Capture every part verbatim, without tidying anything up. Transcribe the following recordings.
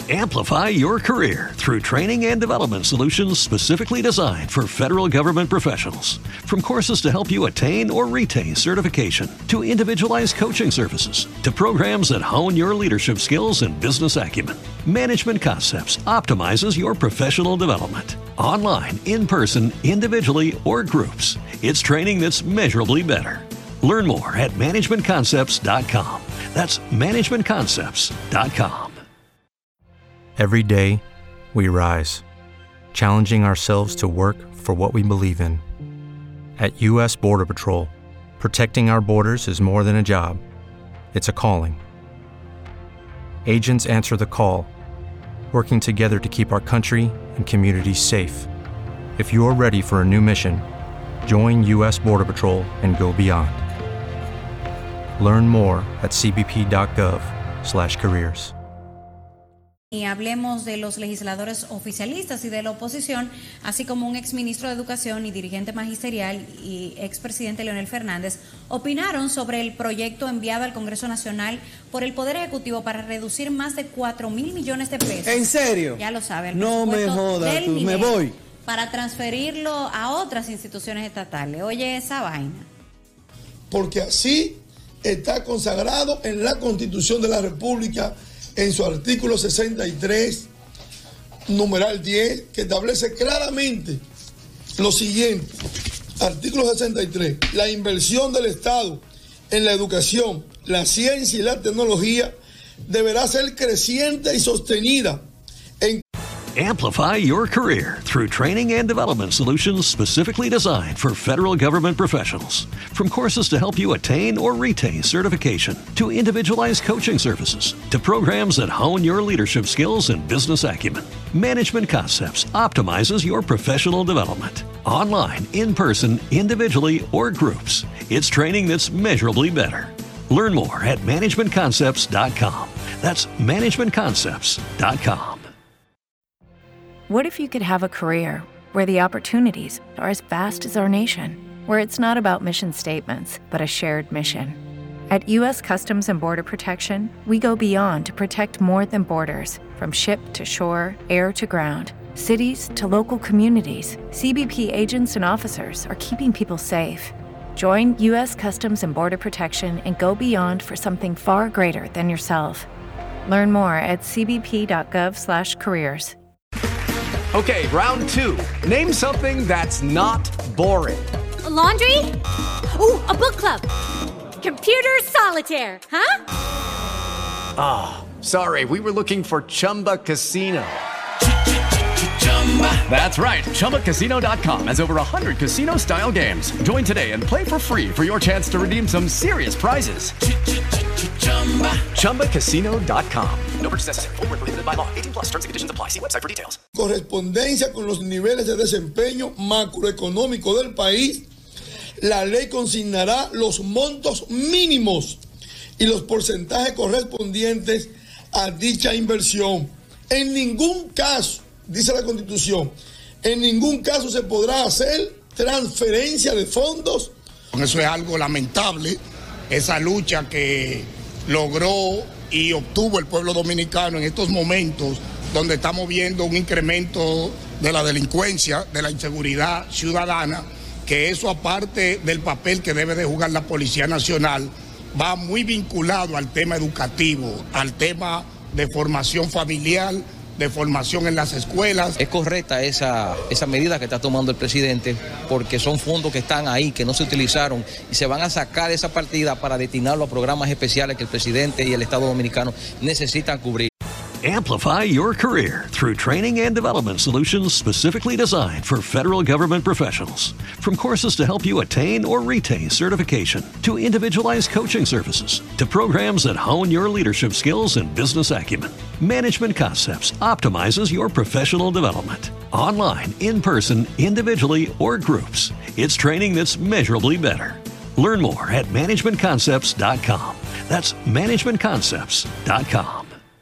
Amplify your career through training and development solutions specifically designed for federal government professionals. From courses to help you attain or retain certification, to individualized coaching services, to programs that hone your leadership skills and business acumen, Management Concepts optimizes your professional development. Online, in person, individually, or groups, it's training that's measurably better. Learn more at management concepts dot com. That's management concepts dot com. Every day, we rise, challenging ourselves to work for what we believe in. At U S Border Patrol, protecting our borders is more than a job. It's a calling. Agents answer the call, working together to keep our country and communities safe. If you're ready for a new mission, join U S Border Patrol and go beyond. Learn more at c b p dot gov slash careers. Y hablemos de los legisladores oficialistas y de la oposición, así como un exministro de Educación y dirigente magisterial y expresidente Leonel Fernández opinaron sobre el proyecto enviado al Congreso Nacional por el Poder Ejecutivo para reducir más de cuatro mil millones de pesos. ¿En serio? Ya lo sabe. El no me jodas, tú, me voy. Para transferirlo a otras instituciones estatales. Oye esa vaina. Porque así está consagrado en la Constitución de la República, en su artículo sesenta y tres, numeral diez, que establece claramente lo siguiente. Artículo sesenta y tres. La inversión del Estado en la educación, la ciencia y la tecnología deberá ser creciente y sostenida. En Amplify your career through training and development solutions specifically designed for federal government professionals. From courses to help you attain or retain certification, to individualized coaching services, to programs that hone your leadership skills and business acumen, Management Concepts optimizes your professional development. Online, in person, individually, or groups, it's training that's measurably better. Learn more at management concepts dot com. That's management concepts dot com. What if you could have a career where the opportunities are as vast as our nation, where it's not about mission statements, but a shared mission? At U S Customs and Border Protection, we go beyond to protect more than borders, from ship to shore, air to ground, cities to local communities. C B P agents and officers are keeping people safe. Join U S Customs and Border Protection and go beyond for something far greater than yourself. Learn more at c b p dot gov slash careers. Okay, round two. Name something that's not boring. A laundry? Ooh, a book club. Computer solitaire, huh? Ah, oh, sorry, we were looking for Chumba Casino. That's right, Chumba Casino dot com has over one hundred casino-style games. Join today and play for free for your chance to redeem some serious prizes. Chumba Casino dot com. No purchase necessary. Void where prohibited by law. eighteen plus terms and conditions apply. See website for details. Correspondencia con los niveles de desempeño macroeconómico del país, la ley consignará los montos mínimos y los porcentajes correspondientes a dicha inversión. En ningún caso, dice la Constitución, en ningún caso se podrá hacer transferencia de fondos. Eso es algo lamentable, esa lucha que logró y obtuvo el pueblo dominicano en estos momentos donde estamos viendo un incremento de la delincuencia, de la inseguridad ciudadana, que eso aparte del papel que debe de jugar la Policía Nacional, va muy vinculado al tema educativo, al tema de formación familiar, de formación en las escuelas. Es correcta esa, esa medida que está tomando el presidente porque son fondos que están ahí, que no se utilizaron y se van a sacar esa partida para destinarlo a programas especiales que el presidente y el Estado Dominicano necesitan cubrir. Amplify your career through training and development solutions specifically designed for federal government professionals. From courses to help you attain or retain certification, to individualized coaching services, to programs that hone your leadership skills and business acumen, Management Concepts optimizes your professional development. Online, in person, individually, or groups, it's training that's measurably better. Learn more at management concepts dot com. That's management concepts dot com.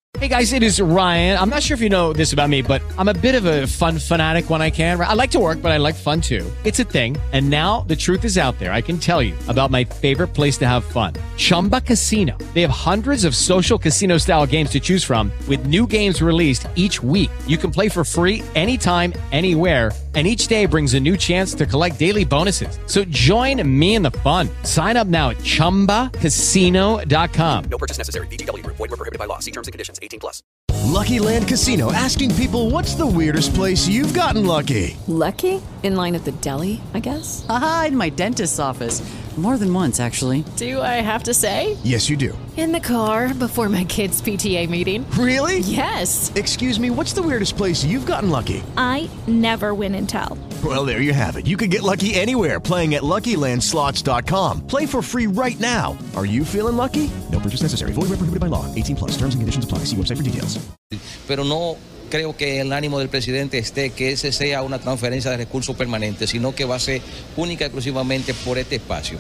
Hey guys, it is Ryan. I'm not sure if you know this about me, but I'm a bit of a fun fanatic when I can. I like to work, but I like fun too. It's a thing. And now the truth is out there. I can tell you about my favorite place to have fun. Chumba Casino. They have hundreds of social casino style games to choose from with new games released each week. You can play for free anytime, anywhere. And each day brings a new chance to collect daily bonuses. So join me in the fun. Sign up now at chumba casino dot com. No purchase necessary. V G W. Void where prohibited by law. See terms and conditions. eighteen plus. Lucky Land Casino, asking people, what's the weirdest place you've gotten lucky? Lucky? In line at the deli, I guess? Aha, in my dentist's office. More than once, actually. Do I have to say? Yes, you do. In the car before my kids' P T A meeting. Really? Yes. Excuse me, what's the weirdest place you've gotten lucky? I never win and tell. Well, there you have it. You can get lucky anywhere, playing at Lucky Land Slots dot com. Play for free right now. Are you feeling lucky? No purchase necessary. Void where prohibited by law. eighteen plus. Terms and conditions apply. See website for details. Pero no creo que el ánimo del presidente esté que ese sea una transferencia de recursos permanente, sino que va a ser única y exclusivamente por este espacio.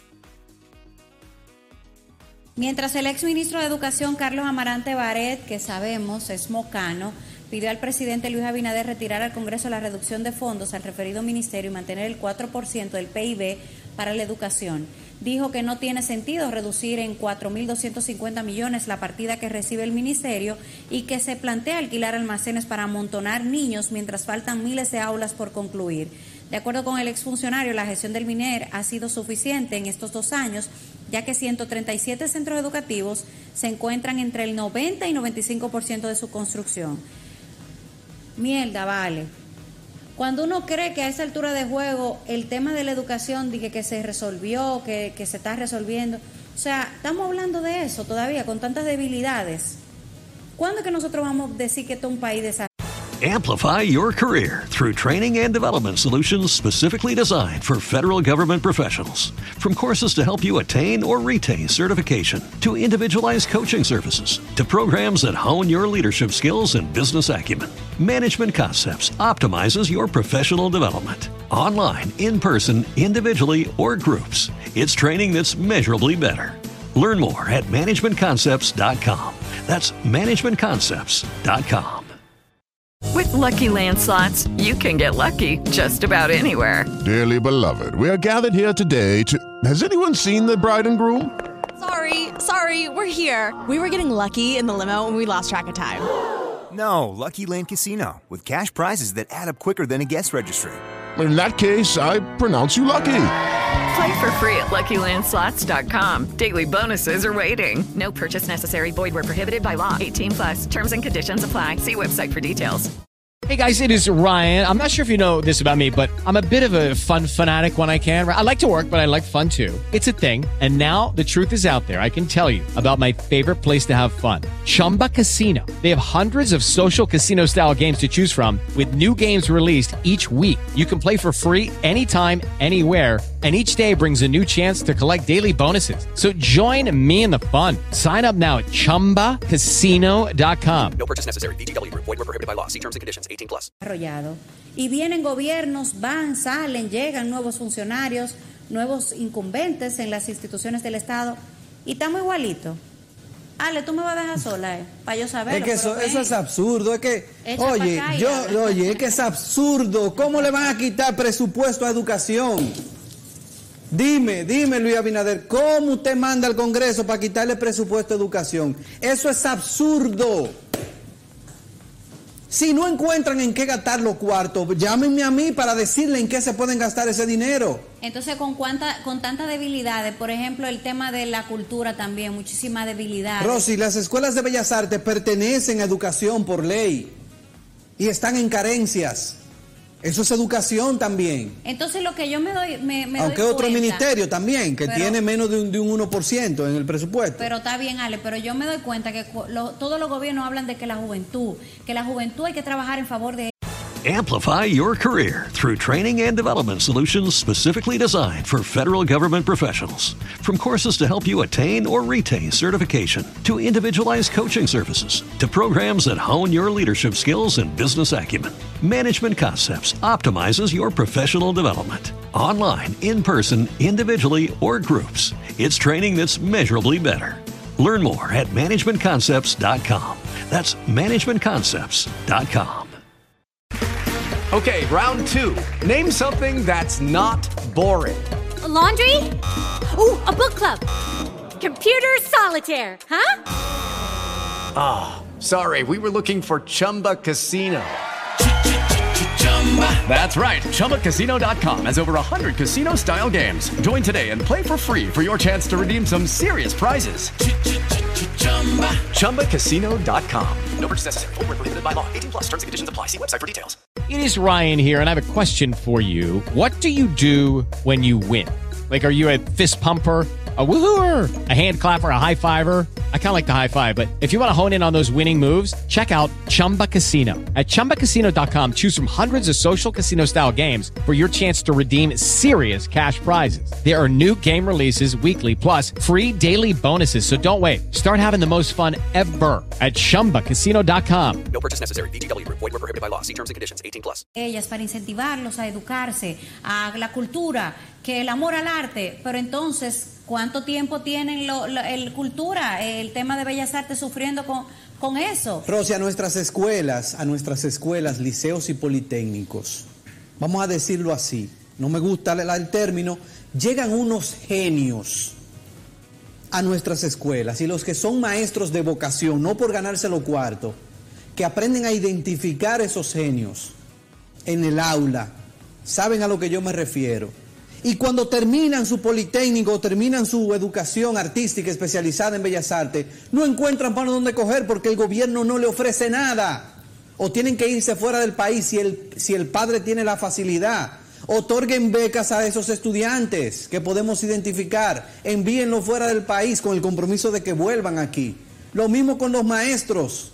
Mientras el exministro de Educación, Carlos Amarante Baret, que sabemos es mocano, pidió al presidente Luis Abinader retirar al Congreso la reducción de fondos al referido ministerio y mantener el cuatro por ciento del P I B para la educación. Dijo que no tiene sentido reducir en cuatro mil doscientos cincuenta millones la partida que recibe el ministerio y que se plantea alquilar almacenes para amontonar niños mientras faltan miles de aulas por concluir. De acuerdo con el exfuncionario, la gestión del MINER ha sido suficiente en estos dos años, ya que ciento treinta y siete centros educativos se encuentran entre el noventa y noventa y cinco por ciento de su construcción. Mierda, vale. Cuando uno cree que a esa altura de juego el tema de la educación dije que se resolvió, que, que se está resolviendo, o sea, estamos hablando de eso todavía con tantas debilidades. ¿Cuándo es que nosotros vamos a decir que esto es un país de... Amplify your career through training and development solutions specifically designed for federal government professionals. From courses to help you attain or retain certification, to individualized coaching services, to programs that hone your leadership skills and business acumen, Management Concepts optimizes your professional development. Online, in person, individually, or groups, it's training that's measurably better. Learn more at management concepts dot com. That's management concepts dot com. With Lucky Land Slots, you can get lucky just about anywhere. Dearly beloved, we are gathered here today to... Has anyone seen the bride and groom? Sorry, sorry, we're here. We were getting lucky in the limo and we lost track of time. No, Lucky Land Casino, with cash prizes that add up quicker than a guest registry. In that case, I pronounce you lucky. Play for free at Lucky Land Slots dot com. Daily bonuses are waiting. No purchase necessary. Void where prohibited by law. eighteen plus. Terms and conditions apply. See website for details. Hey guys, it is Ryan. I'm not sure if you know this about me, but I'm a bit of a fun fanatic when I can. I like to work, but I like fun too. It's a thing. And now the truth is out there. I can tell you about my favorite place to have fun. Chumba Casino. They have hundreds of social casino style games to choose from with new games released each week. You can play for free anytime, anywhere. And each day brings a new chance to collect daily bonuses. So join me in the fun. Sign up now at chumba casino dot com. No purchase necessary. V G W. Void where prohibited by law. See terms and conditions. eighteen plus. Y vienen gobiernos, van, salen, llegan nuevos funcionarios, nuevos incumbentes en las instituciones del Estado y estamos igualitos. Ale, tú me vas a dejar sola, eh, para yo saber. Es que eso, eso es absurdo, es que, Echa oye, yo, oye, es que es absurdo. ¿Cómo le van a quitar presupuesto a educación? Dime, dime Luis Abinader, ¿cómo usted manda al Congreso para quitarle presupuesto a educación? Eso es absurdo. Si no encuentran en qué gastar los cuartos, llámenme a mí para decirle en qué se pueden gastar ese dinero. Entonces, con cuánta, con tantas debilidades, por ejemplo, el tema de la cultura también, muchísimas debilidades. Rosy, las escuelas de Bellas Artes pertenecen a educación por ley y están en carencias. Eso es educación también. Entonces, lo que yo me doy, me, me Aunque doy otro cuenta, ministerio también, que pero, tiene menos de un, de un uno por ciento en el presupuesto. Pero está bien, Ale, pero yo me doy cuenta que lo, todos los gobiernos hablan de que la juventud, que la juventud hay que trabajar en favor de... Amplify your career through training and development solutions specifically designed for federal government professionals. From courses to help you attain or retain certification, to individualized coaching services, to programs that hone your leadership skills and business acumen, Management Concepts optimizes your professional development. Online, in person, individually, or groups, it's training that's measurably better. Learn more at management concepts dot com. That's management concepts dot com. Okay, round two. Name something that's not boring. A laundry? Ooh, a book club. Computer solitaire, huh? Ah, oh, sorry, we were looking for Chumba Casino. That's right, Chumba Casino dot com has over one hundred casino-style games. Join today and play for free for your chance to redeem some serious prizes. Chumba Casino dot com. No purchase necessary. Void where prohibited by law. eighteen plus terms and conditions apply. See website for details. It is Ryan here, and I have a question for you. What do you do when you win? Like, are you a fist pumper, a woohooer, a hand clapper, a high fiver? I kind of like the high five, but if you want to hone in on those winning moves, check out Chumba Casino. At Chumba Casino dot com, choose from hundreds of social casino-style games for your chance to redeem serious cash prizes. There are new game releases weekly, plus free daily bonuses. So don't wait. Start having the most fun ever at Chumba Casino dot com. No purchase necessary. V G W. Void where prohibited by law. See terms and conditions. eighteen plus. Ellas para incentivarlos a educarse, a la cultura, que el amor al arte, pero entonces, ¿cuánto tiempo tienen lo, lo, el cultura, el tema de Bellas Artes sufriendo con, con eso? Rosy, a nuestras escuelas, a nuestras escuelas, liceos y politécnicos, vamos a decirlo así, no me gusta el, el término, llegan unos genios a nuestras escuelas, y los que son maestros de vocación, no por ganarse los cuartos, que aprenden a identificar esos genios en el aula, saben a lo que yo me refiero. Y cuando terminan su politécnico, terminan su educación artística especializada en Bellas Artes, no encuentran para dónde coger porque el gobierno no le ofrece nada. O tienen que irse fuera del país si el, si el padre tiene la facilidad. Otorguen becas a esos estudiantes que podemos identificar. Envíenlos fuera del país con el compromiso de que vuelvan aquí. Lo mismo con los maestros.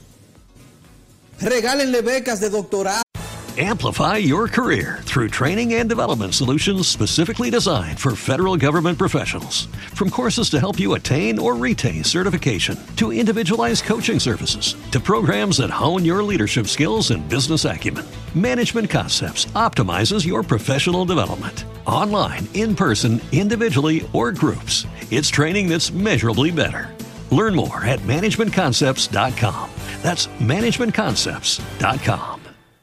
Regálenle becas de doctorado. Amplify your career through training and development solutions specifically designed for federal government professionals. From courses to help you attain or retain certification, to individualized coaching services, to programs that hone your leadership skills and business acumen, Management Concepts optimizes your professional development. Online, in person, individually, or groups, it's training that's measurably better. Learn more at management concepts dot com. That's management concepts dot com.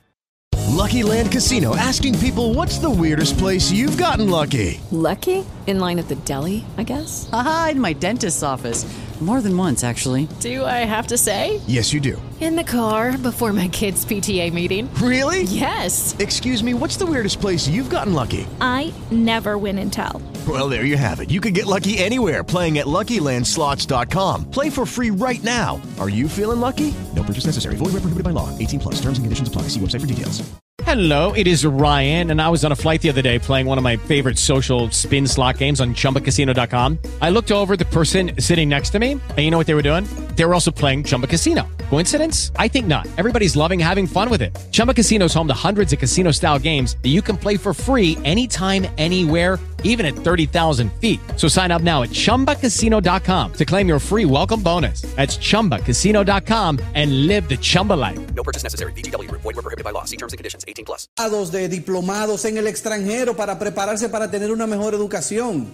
Lucky Land Casino, asking people, what's the weirdest place you've gotten lucky? Lucky? In line at the deli, I guess? Aha, in my dentist's office. More than once, actually. Do I have to say? Yes, you do. In the car before my kids' P T A meeting. Really? Yes. Excuse me, what's the weirdest place you've gotten lucky? I never win and tell. Well, there you have it. You can get lucky anywhere, playing at Lucky Land Slots dot com. Play for free right now. Are you feeling lucky? No purchase necessary. Void where prohibited by law. eighteen plus. Terms and conditions apply. See website for details. Hello, it is Ryan, and I was on a flight the other day playing one of my favorite social spin slot games on Chumba Casino dot com. I looked over at the person sitting next to me, and you know what they were doing? They were also playing Chumba Casino. Coincidence? I think not. Everybody's loving having fun with it. Chumba Casino is home to hundreds of casino-style games that you can play for free anytime, anywhere, even at thirty thousand feet. So sign up now at Chumba Casino dot com to claim your free welcome bonus. That's Chumba Casino dot com and live the Chumba life. No purchase necessary. V G W. Void where prohibited by law. See terms and conditions. eighteen plus. De diplomados en el extranjero para prepararse para tener una mejor educación.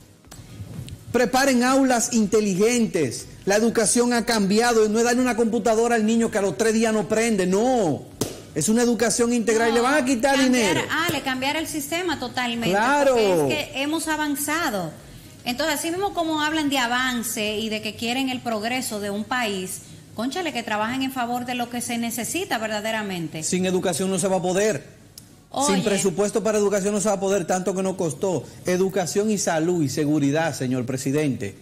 Preparen aulas inteligentes. La educación ha cambiado y no es darle una computadora al niño que a los tres días no prende, no. Es una educación integral, no, y le van a quitar cambiar, dinero. Ah, le cambiar el sistema totalmente. Claro. Porque es que hemos avanzado. Entonces, así mismo como hablan de avance y de que quieren el progreso de un país, cónchale, que trabajen en favor de lo que se necesita verdaderamente. Sin educación no se va a poder. Oye. Sin presupuesto para educación no se va a poder, tanto que nos costó. Educación y salud y seguridad, señor presidente.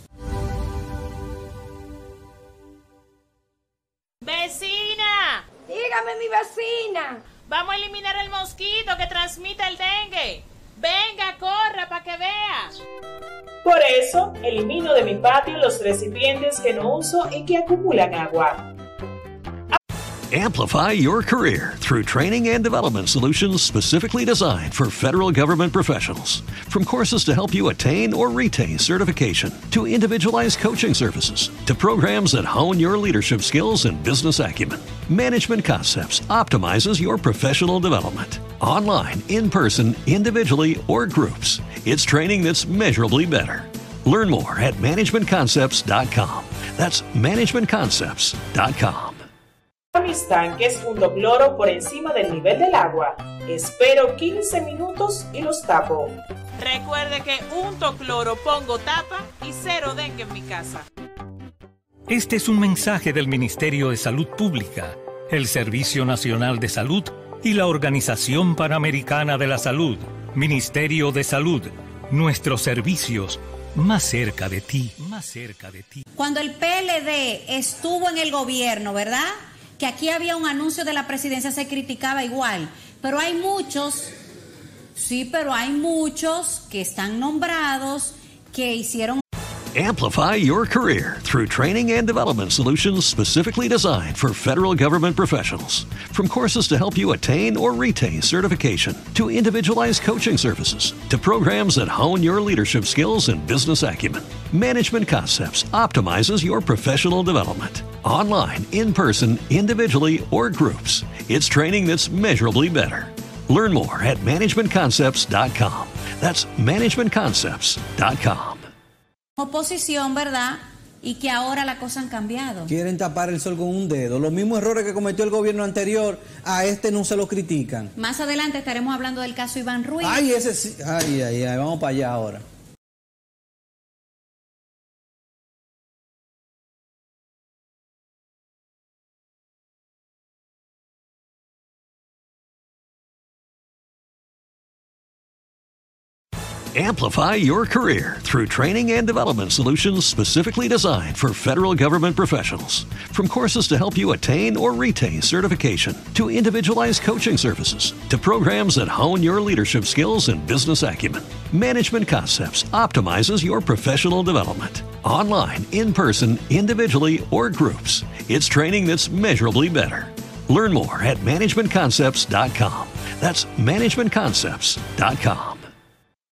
¡Vecina! Dígame, mi vecina. Vamos a eliminar el mosquito que transmite el dengue. Venga, corra para que vea. Por eso, elimino de mi patio los recipientes que no uso y que acumulan agua. Amplify your career through training and development solutions specifically designed for federal government professionals. From courses to help you attain or retain certification, to individualized coaching services, to programs that hone your leadership skills and business acumen, Management Concepts optimizes your professional development. Online, in person, individually, or groups, it's training that's measurably better. Learn more at management concepts dot com. That's management concepts dot com. Mis tanques junto cloro por encima del nivel del agua. Espero quince minutos y los tapo. Recuerde que unto cloro, pongo tapa y cero dengue en mi casa. Este es un mensaje del Ministerio de Salud Pública, el Servicio Nacional de Salud y la Organización Panamericana de la Salud. Ministerio de Salud, nuestros servicios más cerca de ti, más cerca de ti. Cuando el P L D estuvo en el gobierno, ¿verdad? Que aquí había un anuncio de la presidencia, se criticaba igual. Pero hay muchos, sí, pero hay muchos que están nombrados, que hicieron... Amplify your career through training and development solutions specifically designed for federal government professionals. From courses to help you attain or retain certification, to individualized coaching services, to programs that hone your leadership skills and business acumen, Management Concepts optimizes your professional development. Online, in person, individually, or groups, it's training that's measurably better. Learn more at management concepts dot com. That's management concepts dot com. Oposición, ¿verdad? Y que ahora las cosas han cambiado. Quieren tapar el sol con un dedo. Los mismos errores que cometió el gobierno anterior, a este no se lo critican. Más adelante estaremos hablando del caso Iván Ruiz. Ay, ese sí. Ay, ay, ay. Vamos para allá ahora. Amplify your career through training and development solutions specifically designed for federal government professionals. From courses to help you attain or retain certification, to individualized coaching services, to programs that hone your leadership skills and business acumen, Management Concepts optimizes your professional development. Online, in person, individually, or groups, it's training that's measurably better. Learn more at management concepts dot com. That's management concepts dot com.